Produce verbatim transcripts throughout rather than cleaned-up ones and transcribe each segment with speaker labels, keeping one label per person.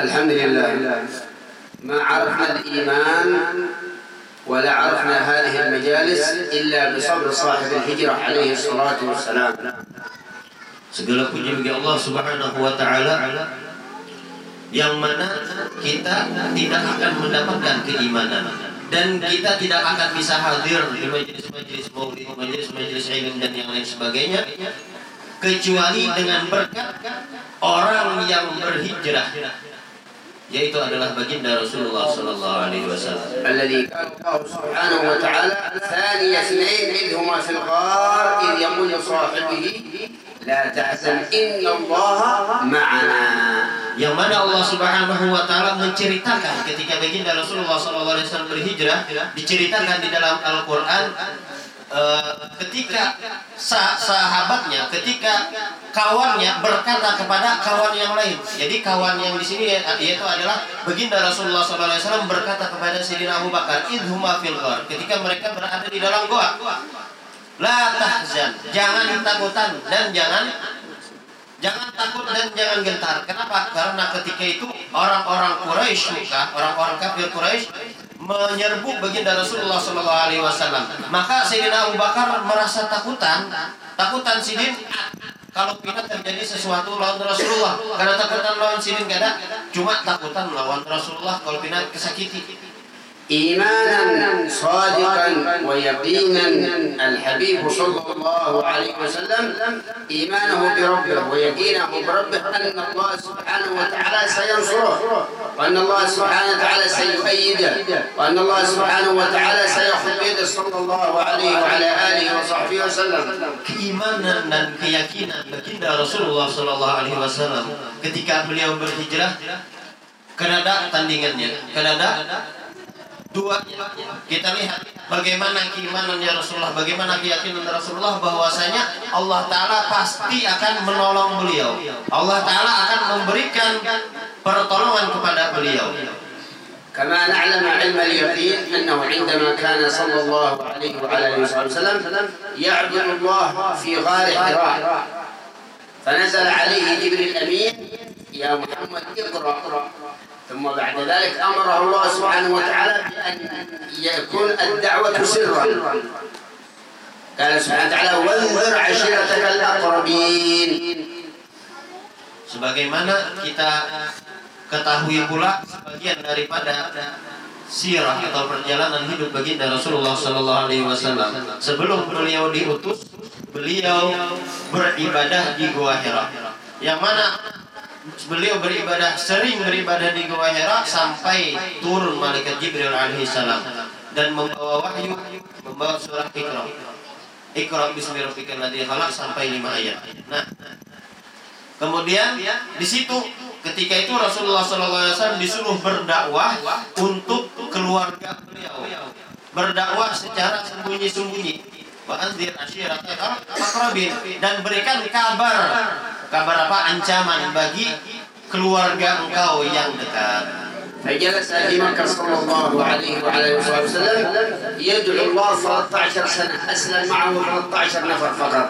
Speaker 1: الحمد لله ما عرفنا الإيمان ولا عرفنا هذه المجالس إلا بصبر صاحب الهجرة عليه الصلاة والسلام.
Speaker 2: Segala puji bagi Allah Subhanahu wa taala yang mana kita tidak akan mendapatkan keimanan dan kita tidak akan bisa hadir di majelis-majelis maulid, majelis-majelis ilmu dan yang lain sebagainya kecuali dengan berkat orang yang berhijrah, yaitu adalah baginda Rasulullah sallallahu alaihi wasallam.
Speaker 1: Alladzi kana Allah Subhanahu wa ta'ala thani ithnain idh huma fil ghar idh yaqulu li sahibihi la tahzan inna Allah ma'ana.
Speaker 2: Yang mana Allah Subhanahu wa taala menceritakan ketika baginda Rasulullah sallallahu alaihi wasallam berhijrah, diceritakan di dalam Al-Qur'an uh, ketika sah sahabatnya, ketika kawannya berkata kepada kawan yang lain. Jadi kawan yang di sini yaitu adalah baginda Rasulullah sallallahu alaihi wasallam berkata kepada Sayyidina Abu Bakar, idhuma fil ghar, ketika mereka berada di dalam goa. La tahzan, jangan takutan dan jangan jangan takut dan jangan gentar. Kenapa? Karena ketika itu orang-orang Quraisy, orang-orang kafir Quraisy menyerbu baginda Rasulullah sallallahu alaihi wasallam. Maka Sayyidina Abu Bakar merasa takutan, takutan sidin kalau pindah terjadi sesuatu lawan Rasulullah. Karena takutan lawan sidin gak ada, cuma takutan lawan Rasulullah kalau pindah kesakiti.
Speaker 1: إيمانا صادقا ويقينا الحبيب صلى الله عليه وسلم إيمانه بربه ويقينه بربه أن الله سبحانه وتعالى سينصره وأن الله سبحانه وتعالى سيؤيده وأن الله سبحانه وتعالى سيأخذ بيده صلى الله عليه وعلى آله وصحبه وسلم.
Speaker 2: Keimanan dan keyakinan baginda Rasulullah sallallahu alaihi wasallam ketika beliau berhijrah, kenada tandingannya, kenada dua, kita lihat bagaimana keimanannya Rasulullah, bagaimana keyakinan Rasulullah bahwasanya Allah Ta'ala pasti akan menolong beliau. Allah Ta'ala akan memberikan pertolongan kepada beliau.
Speaker 1: كما نعلم علم اليقين أنه عندما كان صلى الله عليه وعلى آله وسلم يعبد الله في غار حراء فنزل عليه جبريل الأمين يا محمد اقرأ، ثم بعد ذلك أمره الله سبحانه وتعالى بأن يكون الدعوة سرا. قال سبحانه وتعالى وانذر عشيرتك الأقربين.
Speaker 2: Sebagaimana kita ketahui pula sebagian daripada sirah atau perjalanan hidup baginda Rasulullah sallallahu alaihi wasallam. Sebelum beliau diutus, beliau beribadah di Gua Hira. Yang mana beliau beribadah, sering beribadah di Gua Hira sampai turun malaikat Jibril alaihi salam dan membawa wahyu, membawa surah Iqra. Iqra bismi rabbikal ladzi khalaq sampai lima ayat. Nah, kemudian di situ ketika itu Rasulullah sallallahu alaihi wasallam disuruh berdakwah untuk keluarga beliau. Berdakwah secara sembunyi-sembunyi. Wa anzir ashiratakal aqrabin, dan berikan kabar. Kabar apa? Ancaman bagi keluarga engkau yang dekat.
Speaker 1: فجلس في مكة صلى الله عليه وعلى آله وسلم يدعو الله ثلاثة عشر سنة، أسلم معه ثلاثة عشر نفر فقط.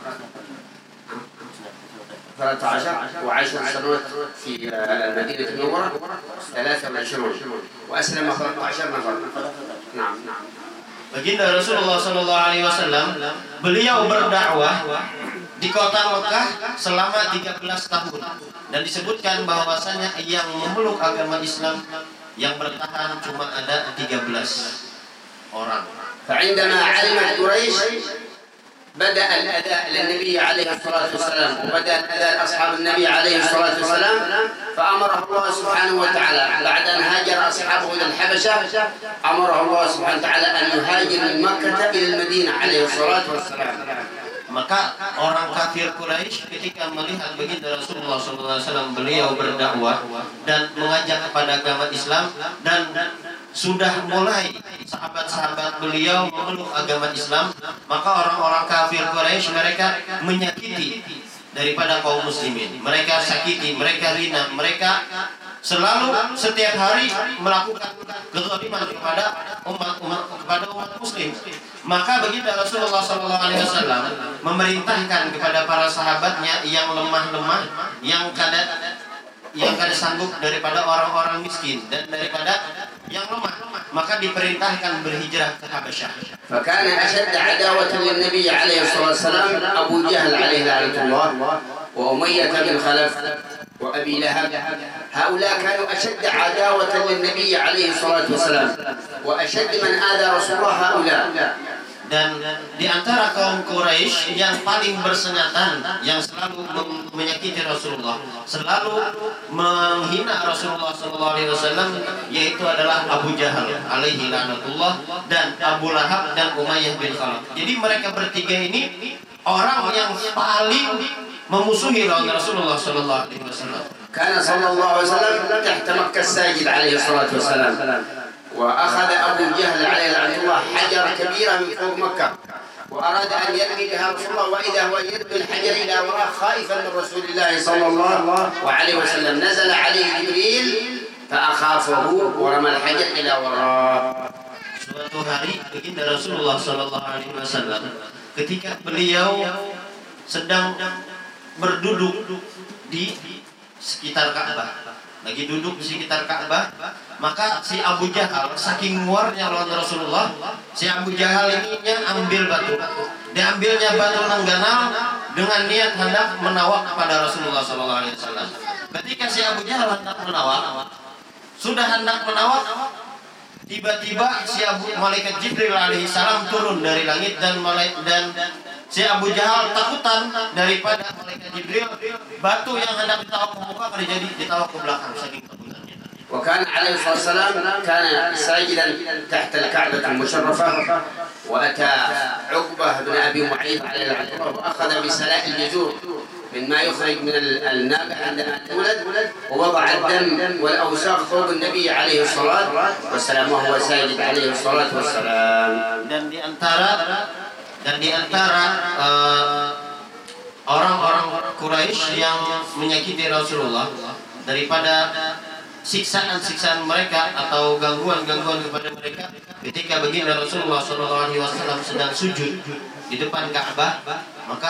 Speaker 1: ثلاثة عشر وعشر سنوات في المدينة المنورة ثلاثة وعشرون وأسلم ثلاثة عشر نفر. نعم نعم.
Speaker 2: Baginda Rasulullah sallallahu alaihi wasallam beliau berdakwah di kota Mekah selama tiga belas tahun, dan disebutkan bahwasanya yang memeluk agama Islam yang bertahan cuma ada tiga belas orang.
Speaker 1: فعندما علمت قريش بدأ الأداء للنبي عليه الصلاة والسلام وبدأ الأداء أصحاب النبي عليه الصلاة والسلام فأمره الله سبحانه وتعالى بعد أن هاجر أصحابه إلى الحبشة أمره الله سبحانه وتعالى أن يهاجر من مكة إلى المدينة عليه الصلاة والسلام.
Speaker 2: Maka orang kafir Quraisy ketika melihat baginda Rasulullah sallallahu alaihi wasallam beliau berdakwah dan mengajak kepada agama Islam, dan sudah mulai sahabat-sahabat beliau memeluk agama Islam, maka orang-orang kafir Quraisy mereka menyakiti daripada kaum muslimin. Mereka sakiti, mereka hina, mereka selalu setiap hari melakukan kezaliman kepada umat umat kepada umat muslim. Maka baginda Rasulullah sallallahu alaihi wasallam memerintahkan kepada para sahabatnya yang lemah-lemah, yang kada yang kada sanggup daripada orang-orang miskin dan daripada yang lemah, maka diperintahkan berhijrah ke Habasyah.
Speaker 1: فكان أشد عداوة للنبي عليه الصلاة والسلام أبو جهل عليه لعنة الله وأمية بن خلف وأبي لهب. هؤلاء كانوا أشد عداوة للنبي عليه الصلاة والسلام وأشد من آذى رسول الله هؤلاء.
Speaker 2: Dan di antara kaum Quraisy yang paling bersengatan, yang selalu menyakiti Rasulullah, selalu menghina Rasulullah Sallallahu Alaihi Wasallam, yaitu adalah Abu Jahal alaihi lanatullah dan Abu Lahab dan Umayyah bin Khalaf. Jadi mereka bertiga ini orang yang paling memusuhi lawan Rasulullah Sallallahu Alaihi Wasallam.
Speaker 1: Karena Sallallahu Alaihi Wasallam tahta Makkah sajid alaihi salatu wassalam. وأخذ أبو جهل عليه لعنة الله حجر كبيرة من فوق مكة وأراد أن يرمي بها رسول الله وإذا هو يرمي الحجر إلى وراء خائفا من رسول الله صلى الله عليه وسلم. نزل عليه جبريل فأخافه ورمى الحجر إلى وراء.
Speaker 2: Suatu hari baginda Rasulullah Sallallahu Alaihi Wasallam ketika beliau sedang berduduk di sekitar Ka'bah, lagi duduk di sekitar Ka'bah, maka si Abu Jahal saking muarnya lawan Rasulullah, si Abu Jahal ini ambil batu, diambilnya batu nangganal dengan niat hendak menawak kepada Rasulullah Sallallahu Alaihi Wasallam. Ketika si Abu Jahal hendak menawak, sudah hendak menawak, tiba-tiba si Abu malaikat Jibril alaihi salam turun dari langit dan malaikat dan si Abu Jahal takutan daripada malaikat Jibril, batu yang hendak ditawak ke muka jadi ditawak ke belakang saking takutannya.
Speaker 1: وكان عليه الصلاة والسلام كان ساجدا تحت الكعبة المشرفة وأتى عقبة بن أبي معيط عليه لعنة الله وأخذ بسلاء الجذور مما يخرج من الناقة عندما تولد ووضع الدم والأوساخ فوق النبي عليه الصلاة والسلام وهو ساجد عليه الصلاة والسلام.
Speaker 2: Dan di antara dan di antara uh, orang-orang Quraisy yang menyakiti Rasulullah daripada siksaan-siksaan mereka atau gangguan-gangguan kepada mereka ketika baginda Rasulullah Sallallahu Alaihi Wasallam sedang sujud di depan Ka'bah, maka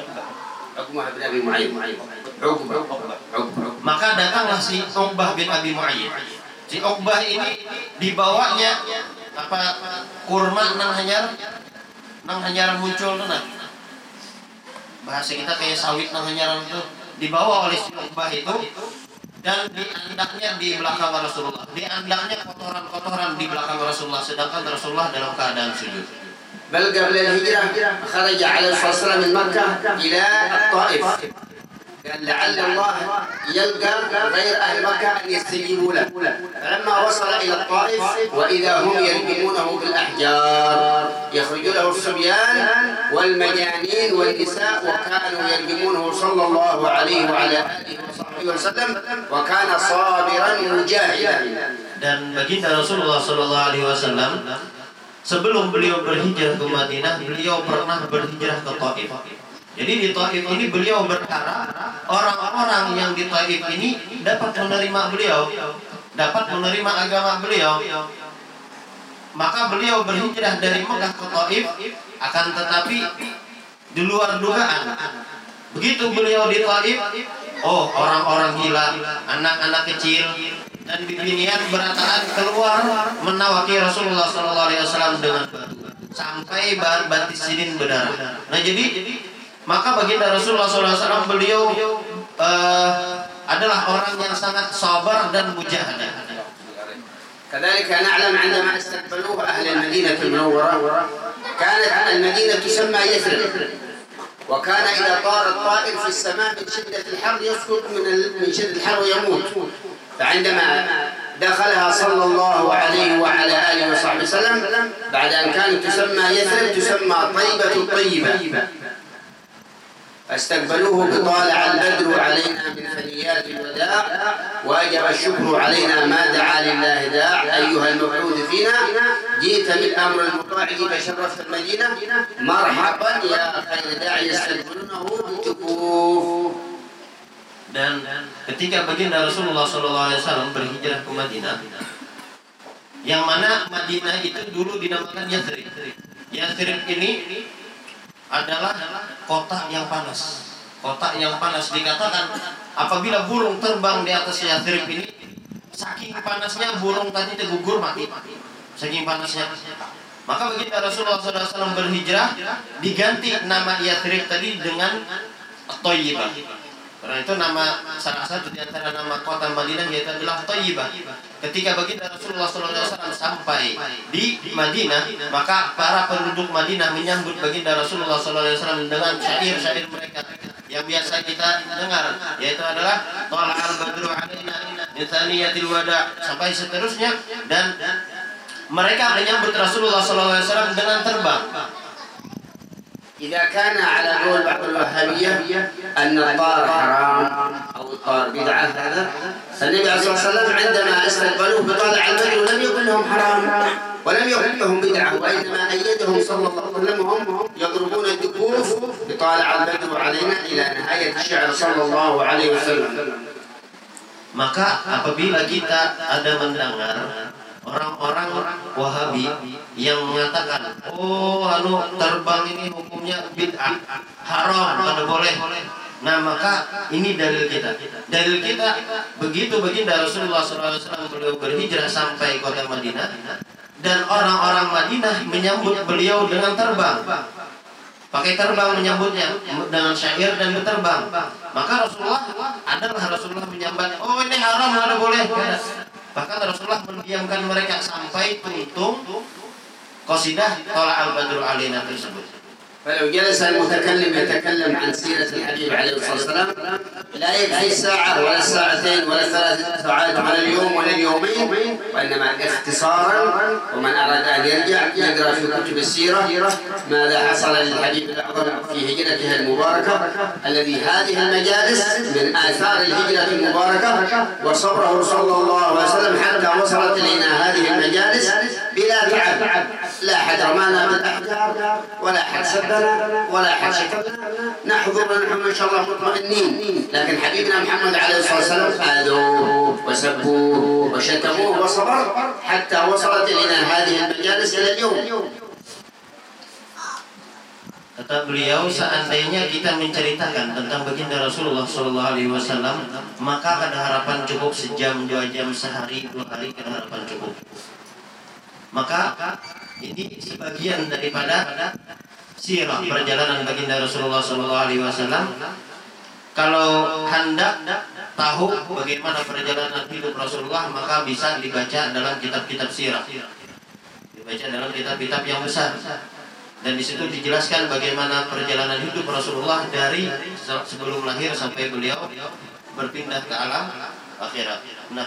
Speaker 2: maka datanglah si Uqbah bin Abi Mu'ayyid. Si Uqbah ini dibawanya apa kurma nang hanyar nang hanyar muncul nah. Bahasa kita kayak sawit nang hanyar itu dibawa oleh si Uqbah itu. Dan di andaknya di belakang Rasulullah, di andaknya kotoran-kotoran di belakang Rasulullah, sedangkan Rasulullah dalam keadaan sujud.
Speaker 1: بل قبل الهجرة خرج عليه الصلاة والسلام من مكة إلى الطائف قال لعل الله يلقى غير أهل مكة أن يستجيبوا له. فلما وصل إلى الطائف وإذا هم يرجمونه بالأحجار يخرج له الصبيان والمجانين والنساء وكانوا يرجمونه صلى الله عليه وعلى آله وصحبه وسلم وكان صابرا مجاهدا.
Speaker 2: Dan baginda Rasulullah Sallallahu Alaihi Wasallam sebelum beliau berhijrah ke Madinah, beliau pernah berhijrah ke Taif. Jadi di Taif ini beliau berharap orang-orang yang di Taif ini dapat menerima beliau, dapat menerima agama beliau. Maka beliau berhijrah dari Mekah ke Taif, akan tetapi di luar dugaan. Begitu beliau di Taif, oh orang-orang gila, anak-anak kecil dan bibinian berataan keluar menawaki Rasulullah Sallallahu Alaihi Wasallam dengan batu sampai batis sidin berdarah. Nah jadi maka baginda Rasulullah Sallallahu Alaihi Wasallam beliau uh, adalah orang yang sangat sabar dan mujahadah.
Speaker 1: كذلك نعلم عندما استقبلوه أهل المدينة المنورة كانت المدينة تسمى يثرب وكان إذا طار الطائر في السماء من شدة الحر يسقط من من شدة الحر ويموت. فعندما دخلها صلى الله عليه وعلى آله وصحبه وسلم بعد أن كانت تسمى يثرب تسمى طيبة الطيبة فاستقبلوه بطالع البدر علينا من ثنيات الوداع وأجب الشكر علينا ما دعا لله داع أيها المبعوث فينا جئت بالأمر المطاع فشرفت المدينة مرحبا يا خير داعي يستقبلونه بكفوف.
Speaker 2: Dan ketika baginda Rasulullah Sallallahu Alaihi Wasallam berhijrah ke Madinah, yang mana Madinah itu dulu dinamakan Yathrib. Yathrib ini adalah kota yang panas. Kota yang panas dikatakan apabila burung terbang di atas Yathrib ini, saking panasnya burung tadi tergugur mati. Saking panasnya. Maka begitu Rasulullah shallallahu alaihi wasallam berhijrah, diganti nama Yathrib tadi dengan Thayyibah. Karena itu nama salah satu di antara nama kota Madinah yaitu adalah Thayyibah. Ketika baginda Rasulullah shallallahu alaihi wasallam sampai di Madinah, maka para penduduk Madinah menyambut baginda Rasulullah shallallahu alaihi wasallam dengan syair-syair mereka yang biasa kita dengar, yaitu adalah Thala'al badru 'alaina min thaniyatil wada' sampai seterusnya, dan mereka menyambut Rasulullah shallallahu alaihi wasallam dengan terbang.
Speaker 1: إذا كان على قول بعض الوهابية أن الطار حرام أو الطار بدعة هذا، فالنبي عليه الصلاة والسلام عندما استقبلوه بطالع البدر لم يقل لهم حرام ولم يقل لهم بدعة، وإنما أيدهم صلى الله عليه وسلم وهم يضربون الدفوف بطالع البدر علينا إلى نهاية الشعر صلى الله عليه وسلم.
Speaker 2: Maka apabila kita ada mendengar orang-orang Wahabi yang mengatakan, oh anu terbang ini hukumnya bid'ah, haram, tidak boleh. Nah maka ini dalil kita. Dalil kita begitu baginda Rasulullah shallallahu alaihi wasallam beliau berhijrah sampai kota Madinah, dan orang-orang Madinah menyambut beliau dengan terbang. Pakai terbang menyambutnya dengan syair dan berterbang. Maka Rasulullah adalah Rasulullah menyambat, oh ini haram, tidak boleh. Bahkan Rasulullah mendiamkan mereka sampai tuntung qasidah Thala'al badru 'alaina tersebut.
Speaker 1: فلو جلس المتكلم يتكلم عن سيرة الحبيب عليه الصلاة والسلام لا يكفي الساعة ولا الساعتين ولا الثلاث ساعات ولا اليوم ولا اليومين، وإنما اختصارا. ومن أراد أن يرجع يقرأ في كتب السيرة ماذا حصل للحبيب الأعظم في هجرته المباركة، الذي هذه المجالس من آثار الهجرة المباركة، وصبره صلى الله عليه وسلم حتى وصلت إلينا هذه المجالس بلا تعب. لا أحد رمانا بالأحجار ولا أحد سبنا ولا أحد شتمنا، نحضر نحن إن شاء الله مطمئنين. لكن حبيبنا محمد عليه الصلاة والسلام آذوه وسبوه وشتموه وصبر حتى وصلت إلينا هذه المجالس إلى اليوم.
Speaker 2: Kata beliau, seandainya kita menceritakan tentang baginda Rasulullah shallallahu alaihi wasallam, maka ada harapan cukup sejam, dua jam, sehari, dua hari, ada harapan cukup. Maka ini sebagian daripada sirah perjalanan baginda Rasulullah shallallahu alaihi wasallam. Kalau hendak tahu bagaimana perjalanan hidup Rasulullah, maka bisa dibaca dalam kitab-kitab sirah, dibaca dalam kitab-kitab yang besar, dan di situ dijelaskan bagaimana perjalanan hidup Rasulullah dari sebelum lahir sampai beliau berpindah ke alam akhirat. Nah,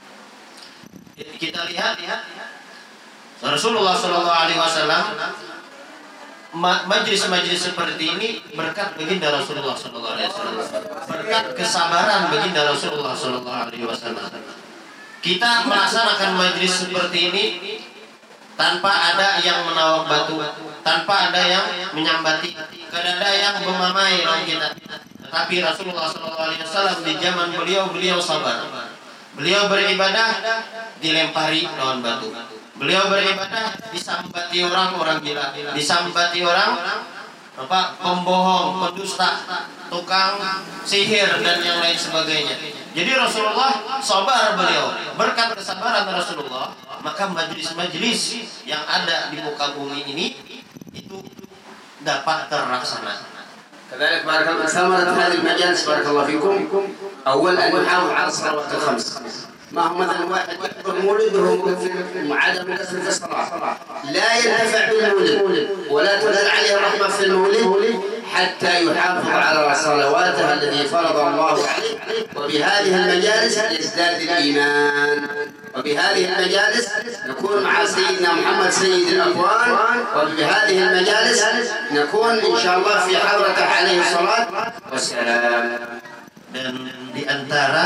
Speaker 2: kita lihat Rasulullah shallallahu alaihi wasallam, majlis-majlis seperti ini berkat baginda Rasulullah shallallahu alaihi wasallam, berkat kesabaran baginda Rasulullah shallallahu alaihi wasallam. Kita melaksanakan majlis seperti ini tanpa ada yang menawak batu, tanpa ada yang menyambati, tidak ada yang memamai lawan kita. Tetapi Rasulullah shallallahu alaihi wasallam di zaman beliau beliau sabar. Beliau beribadah dilempari lawan batu. Beliau beribadah disambati orang orang gila, disambati orang apa pembohong, pendusta, tukang sihir dan yang lain sebagainya. Jadi Rasulullah sabar beliau. Berkat kesabaran Rasulullah, maka majelis-majelis yang ada di muka bumi ini itu dapat terlaksana.
Speaker 1: كذلك بارك الله ثمرة هذه المجالس بارك الله فيكم. أولا أن نحافظ على الصلوات الخمس. ما هو مثلا واحد يحضر مولد وهو عدم كثرة الصلاة، لا ينتفع بالمولد ولا تنزل عليه الرحمة في المولد حتى يحافظ على صلواته التي فرض الله عليه. وبهذه المجالس يزداد الإيمان، وبهذه المجالس نكون مع سيدنا محمد سيد الأكوان، وبهذه المجالس نكون إن شاء الله في حضرته عليه الصلاة والسلام.
Speaker 2: Dan di antara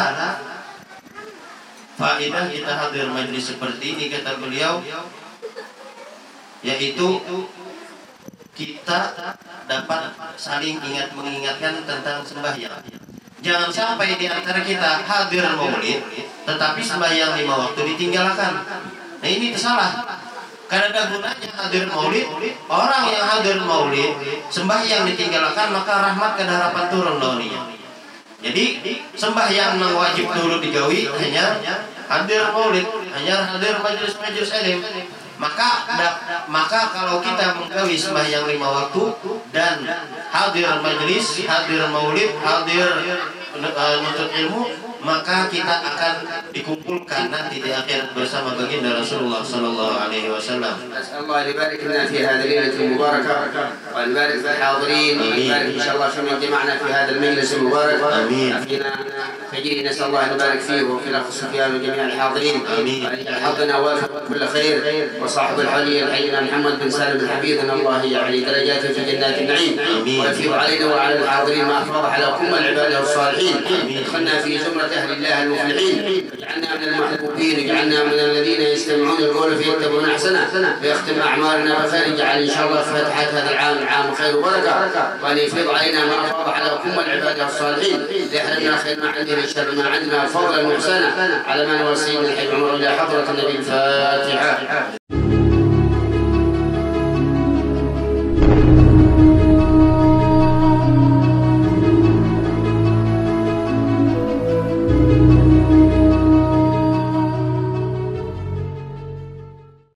Speaker 2: faedah kita hadir majlis seperti ini, kata beliau, yaitu kita dapat saling ingat mengingatkan tentang sembahyang. Jangan sampai di antara kita hadir maulid tetapi sembahyang lima waktu ditinggalkan. Nah ini salah. Karena ada gunanya hadir maulid. Orang yang hadir maulid sembahyang ditinggalkan, maka rahmat dan harapan turun lawannya. Jadi sembahyang yang wajib dulu digawi hanya hadir maulid, hanya hadir majelis-majelis ilmu. Maka maka kalau kita menggawi sembahyang lima waktu dan hadir majelis, hadir maulid, hadir nuntut ilmu, maka kita akan dikumpulkan nanti di akhirat bersama baginda Rasulullah sallallahu alaihi wasallam.
Speaker 1: Allah يبارك لنا في هذه الليلة المباركة ويبارك في الحاضرين ويبارك إن شاء الله في من جمعنا في هذا المجلس المبارك. آمين. فينا فجري نسأل الله أن يبارك فيه وفي الأخ سفيان وجميع الحاضرين. آمين. حظنا وافق كل خير وصاحب الحلي الحينا محمد بن سالم الحفيظ أن الله يعلي درجاته في جنات النعيم. آمين. ويفيض علينا وعلى الحاضرين ما أفاض على كل العباد والصالحين. ادخلنا في زمرة أهل الله المفلحين واجعلنا من المحبوبين واجعلنا من الذين يستمعون القول فيتبعون أحسنه ويختم أعمالنا بخير اجعل إن شاء الله فتحة هذا العام عام خير وبركة وأن يفيض علينا ما أفاض على كل العباد والصالحين ليحرمنا خير ما عندنا شر ما عندنا فضلا وإحسانا على من هو سيدنا الحبيب عمر إلى حضرة النبي الفاتحة.